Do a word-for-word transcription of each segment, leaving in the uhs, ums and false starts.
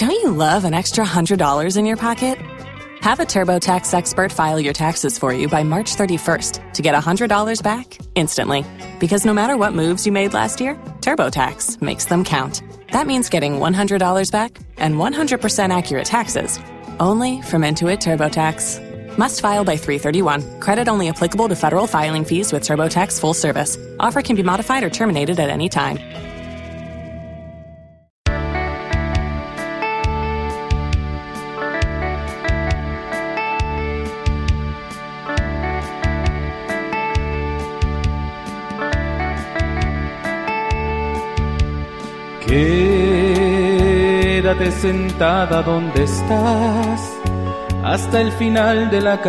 Don't you love an extra one hundred dollars in your pocket? Have a TurboTax expert file your taxes for you by March thirty-first to get one hundred dollars back instantly. Because no matter what moves you made last year, TurboTax makes them count. That means getting one hundred dollars back and one hundred percent accurate taxes, only from Intuit TurboTax. Must file by three thirty-one. Credit only applicable to federal filing fees with TurboTax full service. Offer can be modified or terminated at any time. Quédate sentada donde estás hasta el final de la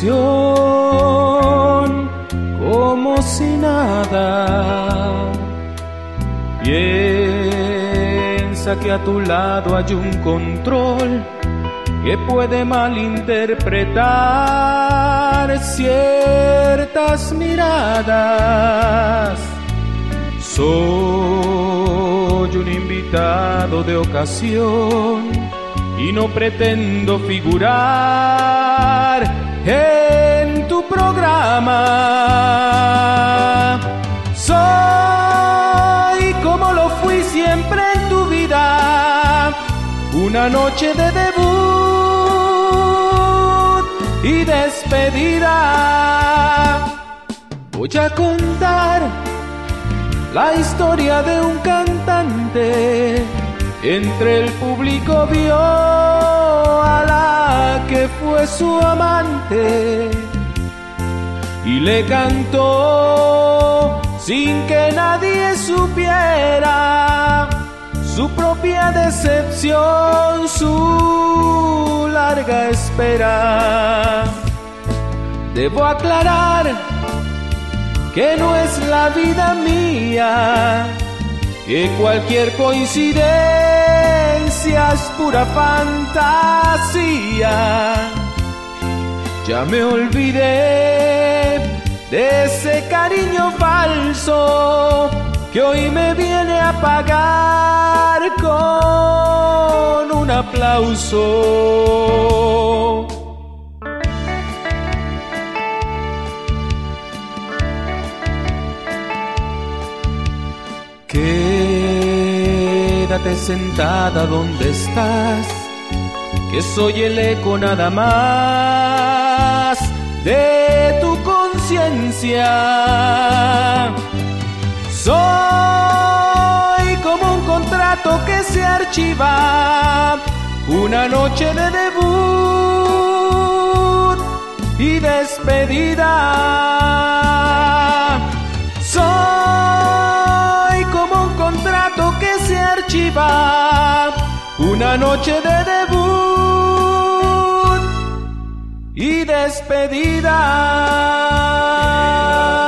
canción, como si nada. Piensa que a tu lado hay un control que puede malinterpretar ciertas miradas. Soy un invitado de ocasión y no pretendo figurar en tu programa. Soy como lo fui siempre en tu vida, una noche de debut y despedida. Voy a contar la historia de un cantante. Entre el público vio a la que fue su amante y le cantó sin que nadie supiera su propia decepción, su larga espera. Debo aclarar que no es la vida mía, que cualquier coincidencia es pura fantasía. Ya me olvidé de ese cariño falso que hoy me viene a pagar con un aplauso. Quédate sentada donde estás, que soy el eco nada más de tu conciencia. Soy como un contrato que se archiva, una noche de debut y despedida. Soy como un contrato que se archiva, una noche de debut y despedida.